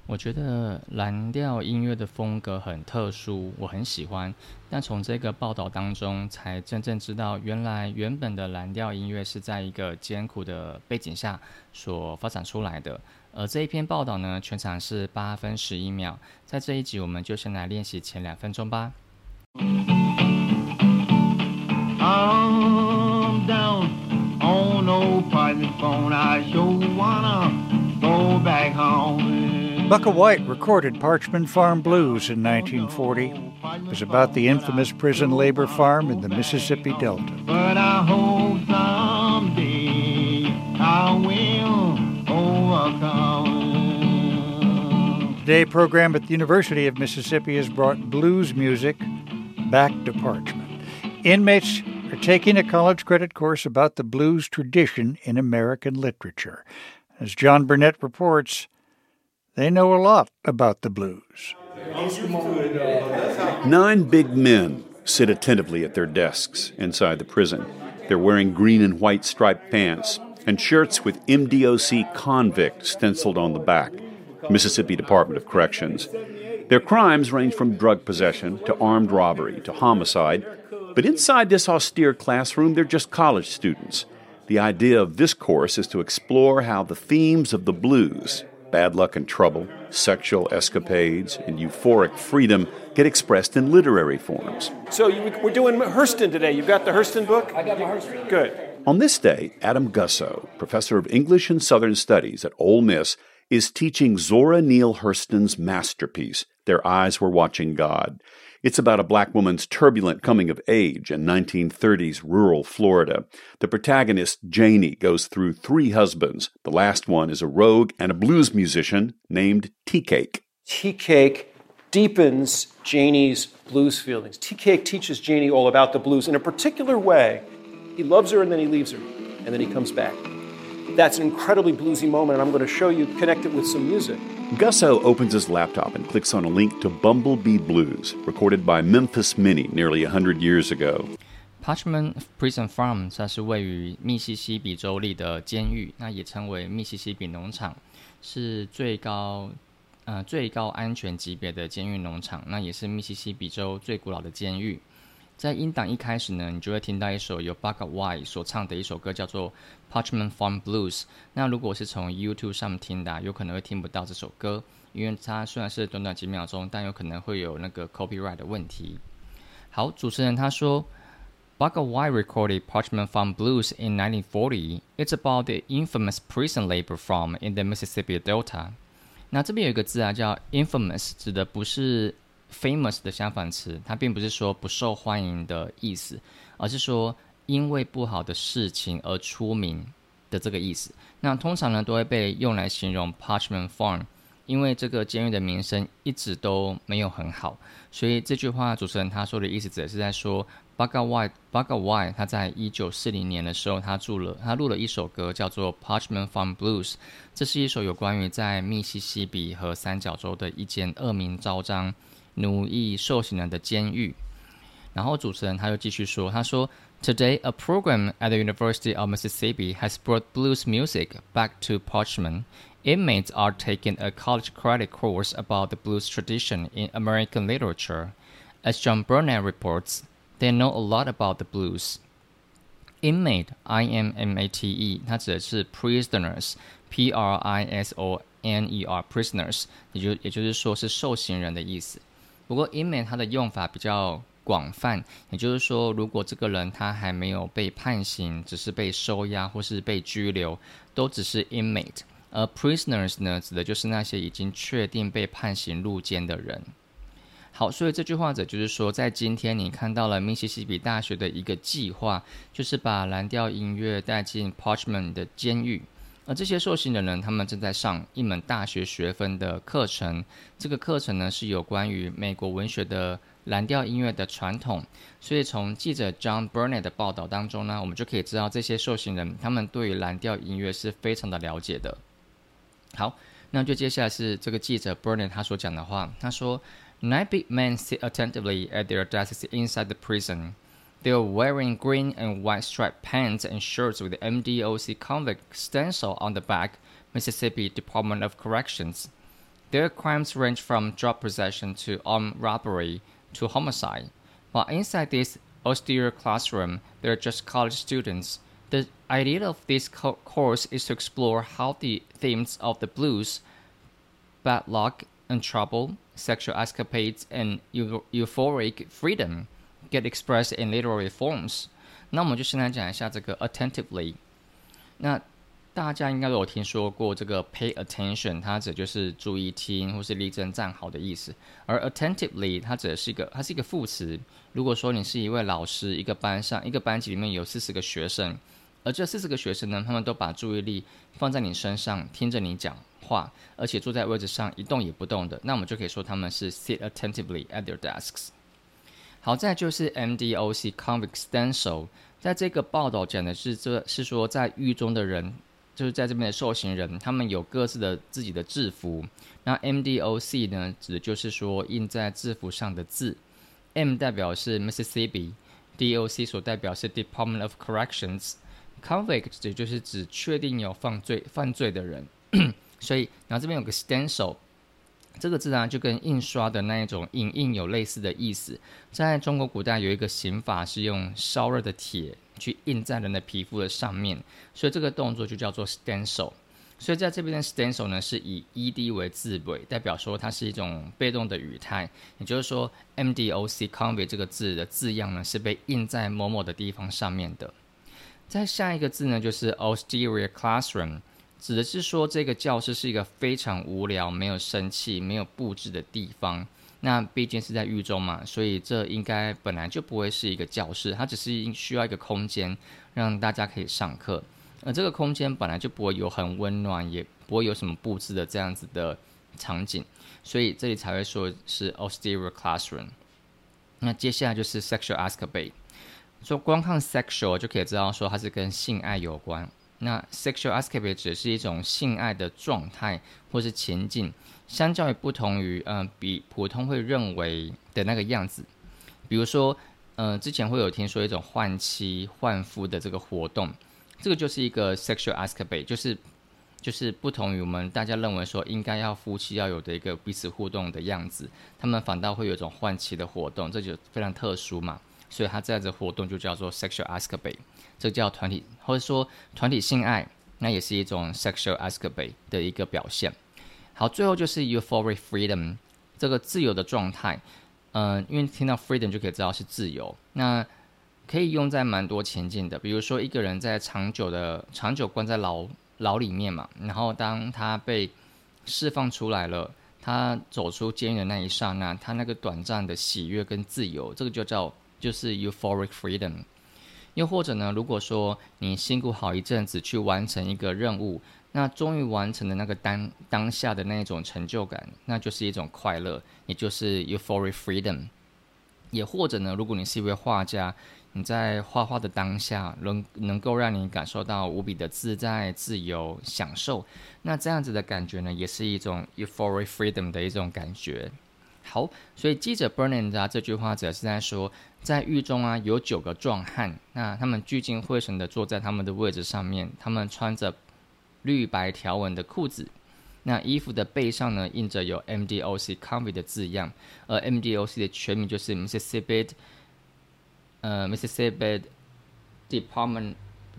我觉得蓝调音乐的风格很特殊，我很喜欢。但从这个报道当中，才真正知道，原本的蓝调音乐是在一个艰苦的背景下所发展出来的。而这一篇报道呢，全场是8分11秒。在这一集，我们就先来练习前2分钟吧。 I'm down on old party phone. I sure wanna go back home. Bucka White recorded Parchman Farm Blues in 1940. It was about the infamous prison labor farm in the Mississippi Delta. But I hope someday I will overcome. Today, program at the University of Mississippi has brought blues music back to Parchman. Inmates are taking a college credit course about the blues tradition in American literature. As John Burnett reports, they know a lot about the blues. 9 big men sit attentively at their desks inside the prison. They're wearing green and white striped pants and shirts with MDOC convict stenciled on the back, Mississippi Department of Corrections. Their crimes range from drug possession to armed robbery to homicide, but inside this austere classroom, they're just college students. The idea of this course is to explore how the themes of the blues, bad luck and trouble, sexual escapades, and euphoric freedom, get expressed in literary forms. So we're doing Hurston today. You've got the Hurston book? I got my Hurston. Good. On this day, Adam Gussow, professor of English and Southern Studies at Ole Miss, is teaching Zora Neale Hurston's masterpiece, Their Eyes Were Watching God. It's about a black woman's turbulent coming of age in 1930s rural Florida. The protagonist, Janie, goes through 3 husbands. The last one is a rogue and a blues musician named Tea-Cake. Tea-Cake deepens Janie's blues feelings. Tea-Cake teaches Janie all about the blues in a particular way. He loves her and then he leaves her, and then he comes back. That's an incredibly bluesy moment, and I'm going to show you, connect it with some music. Gussow opens his laptop and clicks on a link to Bumblebee Blues, recorded by Memphis Minnie nearly 100 years ago. Parchman Prison Farm 它是位于密西西比州立的监狱，那也称为密西西比农场，是最高安全级别的监狱农场，那也是密西西比州最古老的监狱。在音档一开始呢，你就会听到一首由 Bucka White 所唱的一首歌，叫做 Parchman Farm Blues。那如果是从 YouTube 上面听的，有可能会听不到这首歌，因为它虽然是短短几秒钟，但有可能会有那个 copyright 的问题。好，主持人他说 Bucka White recorded Parchman Farm Blues in 1940. It's about the infamous prison labor farm in the Mississippi Delta. 那这边有一个字啊，叫 infamous， 指的不是famous 的相反词，它并不是说不受欢迎的意思，而是说因为不好的事情而出名的这个意思。那通常呢都会被用来形容 Parchman Farm， 因为这个监狱的名声一直都没有很好，所以这句话主持人他说的意思只是在说 Bucka White 他在1940年的时候他录了一首歌叫做 Parchman Farm Blues， 这是一首有关于在密西西比和三角洲的一间恶名昭彰奴役受刑人的监狱。然后主持人他又继续说，他说 Today, a program at the University of Mississippi has brought blues music back to Parchman. Inmates are taking a college credit course about the blues tradition in American literature. As John Burnett reports, they know a lot about the blues. Inmate, I-M-M-A-T-E, 它指的是 prisoners, P-R-I-S-O-N-E-R, prisoners, 也就是说是受刑人的意思。不过 inmate 它的用法比较广泛，也就是说如果这个人他还没有被判刑，只是被收押或是被拘留，都只是 inmate。而 prisoners 呢，指的就是那些已经确定被判刑入监的人。好，所以这句话者就是说，在今天你看到了密西西比大学的一个计划，就是把蓝调音乐带进 Parchman 的监狱。而这些受刑人呢，他们正在上一门大学学分的课程，这个课程呢是有关于美国文学的蓝调音乐的传统。所以从记者 John Burnett 的报道当中呢，我们就可以知道这些受刑人他们对于蓝调音乐是非常的了解的。好，那就接下来是这个记者 Burnett 他所讲的话，他说 Nine big men sit attentively at their desks inside the prison.They are wearing green and white striped pants and shirts with the MDOC convict stencil on the back, Mississippi Department of Corrections. Their crimes range from drug possession to armed robbery to homicide. While inside this austere classroom, they're just college students. The idea of this course is to explore how the themes of the blues, bad luck and trouble, sexual escapades, and euphoric freedom get expressed in literary forms. 那我们就先来讲一下这个 attentively。那大家应该都有听说过这个 pay attention， 它指就是注意听或是立正站好的意思。而 attentively 它指的是它是一个副词。如果说你是一位老师，一个班级里面有40个学生，而这40个学生呢，他们都把注意力放在你身上，听着你讲话，而且坐在位置上一动也不动的，那我们就可以说他们是 sit attentively at their desks。好，再来就是 MDOC convict stencil， 在这个报道讲的是说在狱中的人，就是在这边的受刑人，他们有各自的自己的制服。那 MDOC 呢，指的就是说印在制服上的字。M 代表是 Mississippi，DOC 所代表是 Department of Corrections。Convict 也就是指确定有犯罪的人。所以，然后这边有个 stencil。这个字呢，就跟印刷的那一种影印有类似的意思。在中国古代有一个刑法是用烧热的铁去印在人的皮肤的上面，所以这个动作就叫做 stencil。所以在这边的 stencil 呢是以 ed 为字尾，代表说它是一种被动的语态，也就是说 MDOC convict 这个字的字样呢是被印在某某的地方上面的。再下一个字呢就是 austere classroom。指的是说这个教室是一个非常无聊、没有生气、没有布置的地方。那毕竟是在狱中嘛，所以这应该本来就不会是一个教室，它只是需要一个空间让大家可以上课。而这个空间本来就不会有很温暖，也不会有什么布置的这样子的场景，所以这里才会说是 austere classroom。那接下来就是 sexual escapade。说光看 sexual 就可以知道说它是跟性爱有关。那 sexual escapade 只是一种性爱的状态或是情境，相较于不同于比普通会认为的那个样子。比如说之前会有听说一种换妻换夫的这个活动，这个就是一个 sexual escapade， 就是不同于我们大家认为说应该要夫妻要有的一个彼此互动的样子，他们反倒会有一种换妻的活动，这就非常特殊嘛，所以它这样子的活动就叫做 sexual escapade。这叫团体，或者说团体性爱，那也是一种 sexual escapade 的一个表现。好，最后就是 euphoric freedom， 这个自由的状态。因为听到 freedom 就可以知道是自由，那可以用在蛮多情境的。比如说一个人在长久关在牢里面嘛，然后当他被释放出来了，他走出监狱的那一刹那，他那个短暂的喜悦跟自由，这个就是 euphoric freedom。又或者呢，如果说你辛苦好一阵子去完成一个任务，那终于完成的那个当下的那一种成就感，那就是一种快乐，也就是 euphoric freedom。也或者呢，如果你是一位画家，你在画画的当下能够让你感受到无比的自在、自由、享受，那这样子的感觉呢，也是一种 euphoric freedom 的一种感觉。好，所以记者 Burnand 这句话指的是在说，在狱中有9个壮汉，那他们聚精会神的坐在他们的位置上面，他们穿着绿白条纹的裤子，那衣服的背上呢印着有 MDOC convict 的字样，而 MDOC 的全名就是 Mississippi Department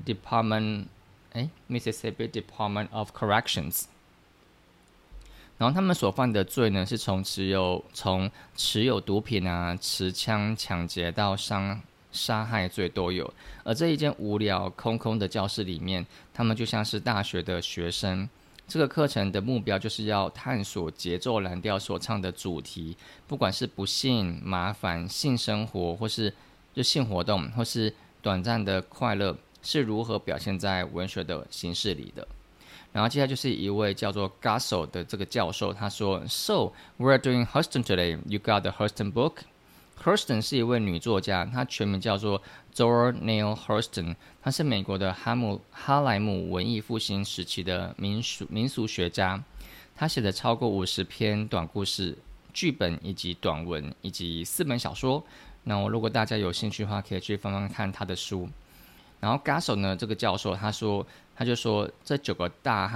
of Corrections。然后他们所犯的罪呢，是从持有毒品持枪抢劫到杀害罪都有。而这一间无聊空空的教室里面，他们就像是大学的学生。这个课程的目标就是要探索节奏蓝调所唱的主题，不管是不幸、麻烦、性生活，或是就性活动，或是短暂的快乐，是如何表现在文学的形式里的。然后接下来就是一位叫做 Gasso 的这个教授，他说 So, we're doing Hurston today. You got the Hurston book? Hurston 是一位女作家，她全名叫做 Zora Neale Hurston， 她是美国的哈莱姆文艺复兴时期的民俗学家。她写了超过50篇短故事、剧本以及短文，以及4本小说。那如果大家有兴趣的话，可以去翻翻看她的书。然后 Gasso 呢，这个教授他就说这9个大汉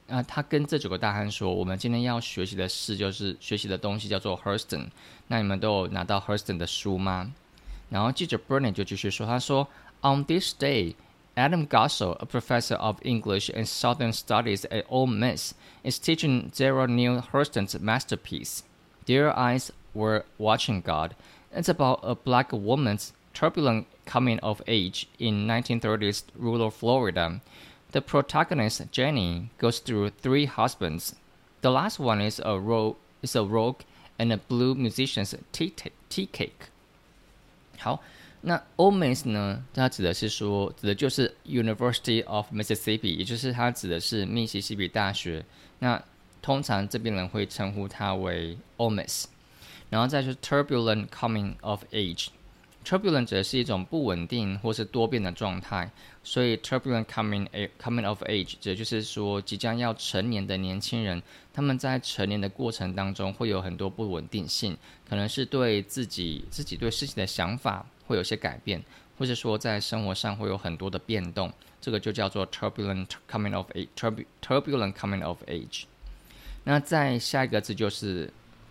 他跟这9个大汉说，我们今天要学习的事就是学习的东西叫做 Hurston， 那你们都有拿到 Hurston 的书吗？然后记者 Burnett 就继续说，他说 On this day, Adam Gasso, a professor of English and Southern Studies at Ole Miss, is teaching Zora Neale Hurston's masterpiece, Their Eyes Were Watching God. It's about a black woman's turbulent coming of age in 1930s rural Florida. The protagonist, Jenny, goes through 3 husbands. The last one is a rogue and a blue musician's tea cake. 好，那 Ole Miss 呢？它指的就是 University of Mississippi， 也就是它指的是密西西比大学。那通常这边人会称呼它为 Ole Miss。然后再就是 turbulent coming of age。turbulent 指的是一种不稳定或是多变的状态，所以 turbulent coming of age 指的就是说即将要成年的年轻人，他们在成年的过程当中会有很多不稳定性，可能是对自己对事情的想法会有些改变，或是说在生活上会有很多的变动，这个就叫做 turbulent coming of age。turbulent coming of age。那再下一个字就是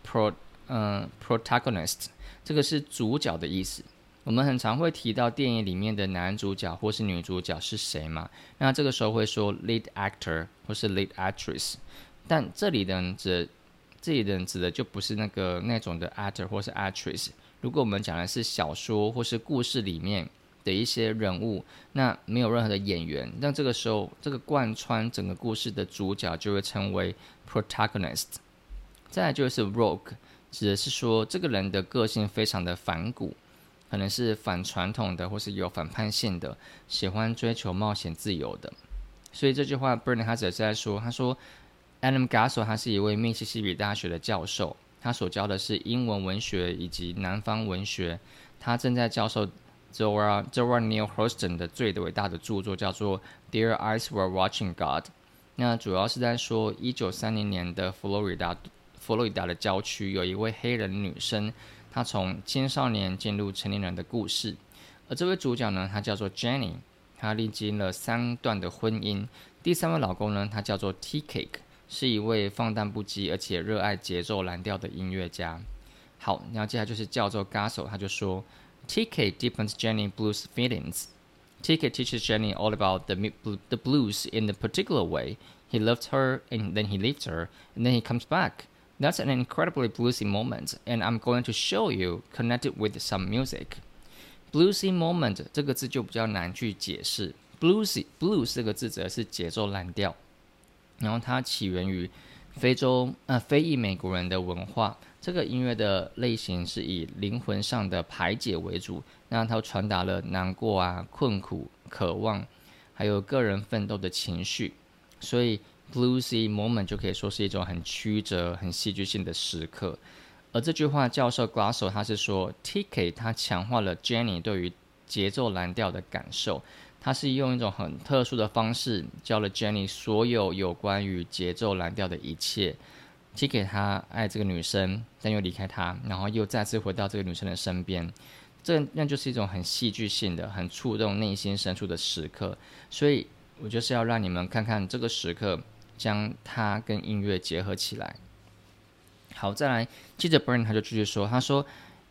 protagonist， 这个是主角的意思。我们很常会提到电影里面的男主角或是女主角是谁嘛？那这个时候会说 lead actor 或是 lead actress， 但这里的人指的就不是那种的 actor 或是 actress。如果我们讲的是小说或是故事里面的一些人物，那没有任何的演员，那这个时候这个贯穿整个故事的主角就会称为 protagonist。再来就是 rogue， 指的是说这个人的个性非常的反骨，可能是反传统的或是有反叛性的，喜欢追求冒险自由的。所以这句话 Burnett 他只是在说，他说 Adam Gasso 他是一位密西西比大学的教授，他所教的是英文文学以及南方文学，他正在教授 Zora Neale Hurston 的最伟大的著作叫做 Their Eyes Were Watching God。 那主要是在说1930年的佛罗里达的郊区有一位黑人女生，她从青少年进入成年人的故事。而这位主角呢，她叫做 Jenny， 她历经了3段的婚姻。第3位老公呢，他叫做 Tea Cake， 是一位放荡不羁而且热爱节奏蓝调的音乐家。好，然后接下来就是教授 Gasso， 他就说 Tea Cake deepens Jenny blues feelings. Tea Cake teaches Jenny all about the blues in a particular way. He loved her and then he leaves her and then he comes back.That's an incredibly bluesy moment, and I'm going to show you connected with some music. Bluesy moment 这个字就比较难去解释。Blues 这个字指的是节奏蓝调，然后它起源于非裔美国人的文化。这个音乐的类型是以灵魂上的排解为主，那它传达了难过啊、困苦、渴望，还有个人奋斗的情绪，所以Bluesy moment 就可以说是一种很曲折、很戏剧性的时刻。而这句话，教授 Gasso 他是说 ，T.K. 他强化了 Jenny 对于节奏蓝调的感受，他是用一种很特殊的方式教了 Jenny 所有关于节奏蓝调的一切。T.K. 他爱这个女生，但又离开她，然后又再次回到这个女生的身边。那就是一种很戏剧性的、很触动内心深处的时刻。所以我就是要让你们看看这个时刻。将它跟音乐结合起来。好，再来，记者 Burnett 他就继续说，他说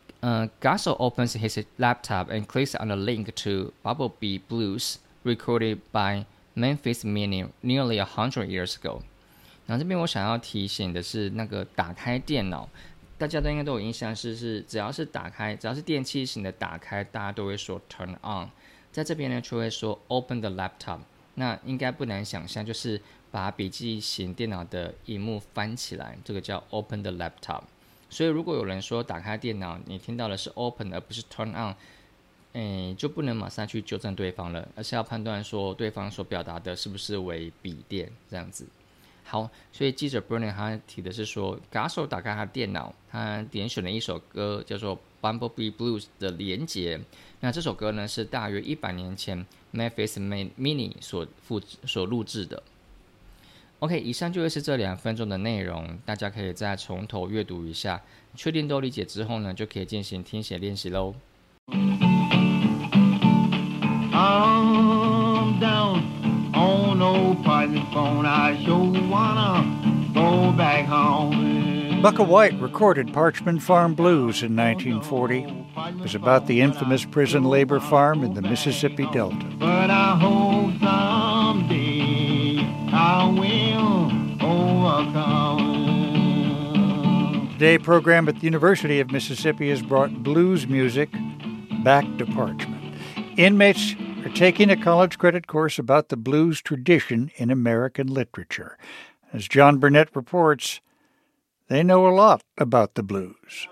，Gasso opens his laptop and clicks on a link to Bumblebee Blues, recorded by Memphis Minnie nearly 100 years ago。然后这边我想要提醒的是，那个打开电脑，大家都应该都有印象，是只要是电器型的打开，大家都会说 turn on。在这边呢，就会说 open the laptop。那应该不难想象，就是把笔记型电脑的萤幕翻起来，这个叫 open the laptop。所以如果有人说打开电脑，你听到的是 open 而不是 turn on，就不能马上去纠正对方了，而是要判断说对方所表达的是不是为笔电这样子。好，所以记者 Burnett 他提的是说 Gasso 打开他的电脑，他点选了一首歌叫做 Bumblebee Blues 的连结。那这首歌呢是大约100年前 Memphis Minnie 所录制的。OK， 以上就会是这2分钟的内容，大家可以再从头阅读一下，确定都理解之后呢，就可以进行听写练习咯。 I'm down on old Pilot phone, I sure want Bukka White recorded Parchman Farm Blues in 1940. It was about the infamous prison labor farm in the Mississippi Delta. But I hope someday I will overcome. Today program at the University of Mississippi has brought blues music back to Parchman. Inmates are taking a college credit course about the blues tradition in American literature. As John Burnett reports, they know a lot about the blues.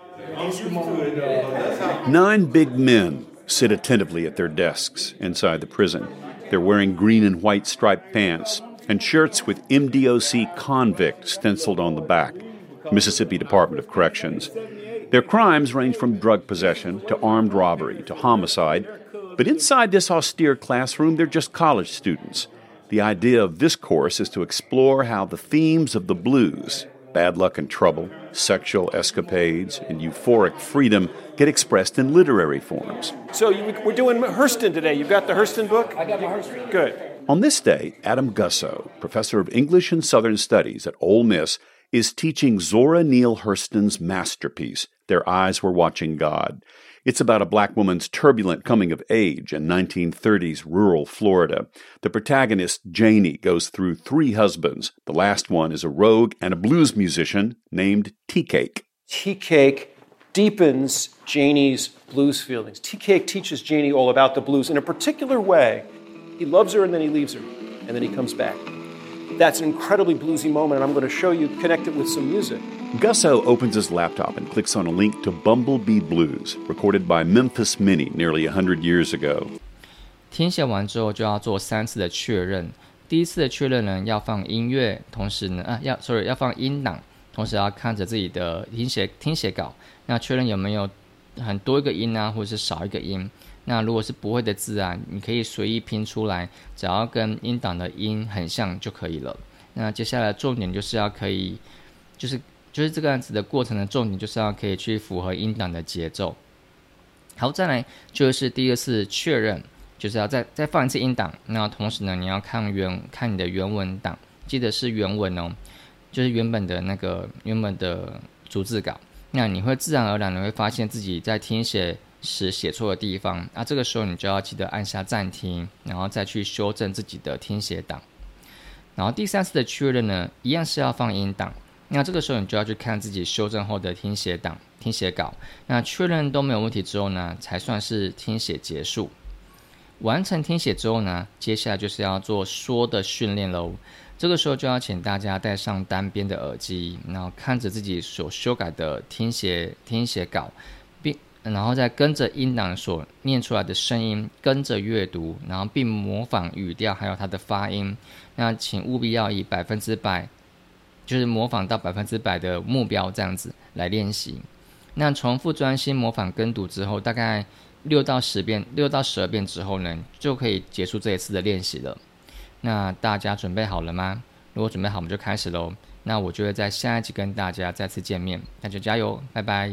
9 big men sit attentively at their desks inside the prison. They're wearing green and white striped pants and shirts with MDOC convict stenciled on the back, Mississippi Department of Corrections. Their crimes range from drug possession to armed robbery to homicide, but inside this austere classroom, they're just college students. The idea of this course is to explore how the themes of the blues, bad luck and trouble, sexual escapades, and euphoric freedom get expressed in literary forms. So we're doing Hurston today. You've got the Hurston book? I got my Hurston. Good. On this day, Adam Gussow, professor of English and Southern Studies at Ole Miss, is teaching Zora Neale Hurston's masterpiece, Their Eyes Were Watching God. It's about a black woman's turbulent coming of age in 1930s rural Florida. The protagonist, Janie, goes through 3 husbands. The last one is a rogue and a blues musician named Tea Cake. Tea Cake deepens Janie's blues feelings. Tea Cake teaches Janie all about the blues in a particular way. He loves her and then he leaves her, and then he comes back. That's an incredibly bluesy moment, and I'm going to show you, connect it with some music. Gussow opens his laptop and clicks on a link to Bumblebee Blues, recorded by Memphis Minnie nearly 100 years ago. 听写完之后就要做3次的确认。第一次的确认呢，要放音乐，同时呢，要放音档，同时要看着自己的听写稿，那确认有没有很多一个音啊，或者是少一个音。那如果是不会的字啊，你可以随意拼出来，只要跟音档的音很像就可以了。那接下来重点就是要可以，就是这个样子的过程的重点就是要可以去符合音档的节奏。好，再来就是第2次确认，就是要再放一次音档。那同时呢，你要看你的原文档，记得是原文哦，就是原本的逐字稿。那你会自然而然的会发现自己在听写时写错的地方，那这个时候你就要记得按下暂停，然后再去修正自己的听写档。然后第3次的确认呢，一样是要放音档，那这个时候你就要去看自己修正后的听写档、听写稿。那确认都没有问题之后呢，才算是听写结束。完成听写之后呢，接下来就是要做说的训练咯。这个时候就要请大家戴上单边的耳机，然后看着自己所修改的听写稿，然后再跟着音档所念出来的声音跟着阅读，然后并模仿语调还有它的发音。那请务必要以100%，就是模仿到100%的目标这样子来练习。那重复专心模仿跟读之后，大概6到12遍之后呢，就可以结束这一次的练习了。那大家准备好了吗？如果准备好，我们就开始咯。那我就会在下一集跟大家再次见面，大家加油，拜拜。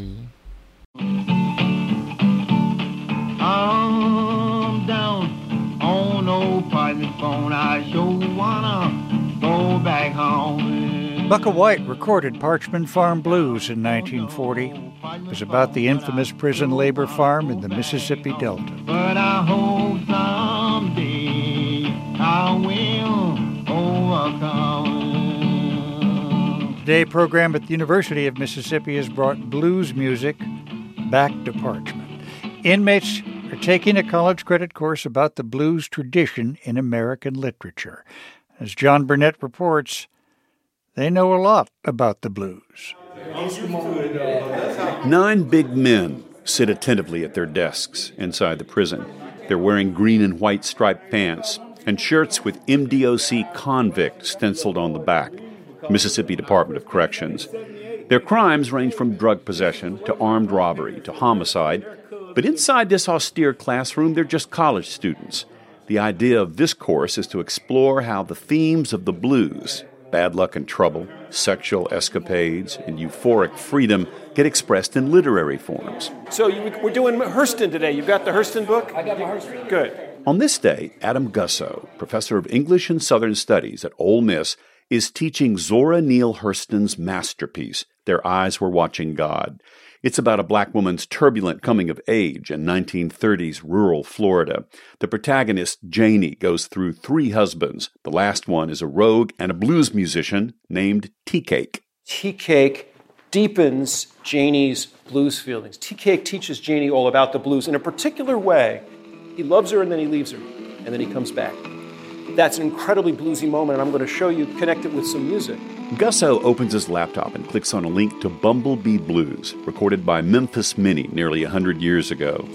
I'm down on old Parchman phone. I sure wanna go back home. Bukka White recorded Parchman Farm Blues in 1940. It was about the infamous prison labor farm in the Mississippi Delta. But I hope someday I will overcome. Today program at the University of Mississippi has brought blues music back to Parchman. Inmates are taking a college credit course about the blues tradition in American literature. As John Burnett reports, they know a lot about the blues. 9 big men sit attentively at their desks inside the prison. They're wearing green and white striped pants and shirts with MDOC convict stenciled on the back, Mississippi Department of Corrections. Their crimes range from drug possession to armed robbery to homicide, but inside this austere classroom, they're just college students. The idea of this course is to explore how the themes of the blues, bad luck and trouble, sexual escapades, and euphoric freedom get expressed in literary forms. So we're doing Hurston today. You've got the Hurston book? I got my Hurston. Good. On this day, Adam Gussow, professor of English and Southern Studies at Ole Miss, is teaching Zora Neale Hurston's masterpiece, Their Eyes Were Watching God. It's about a black woman's turbulent coming of age in 1930s rural Florida. The protagonist, Janie, goes through 3 husbands. The last one is a rogue and a blues musician named Tea Cake. Tea Cake deepens Janie's blues feelings. Tea Cake teaches Janie all about the blues in a particular way. He loves her and then he leaves her, and then he comes back. That's an incredibly bluesy moment, and I'm going to show you, connect it with some music. Gusso opens his laptop and clicks on a link to Bumblebee Blues, recorded by Memphis Minnie nearly 100 years ago.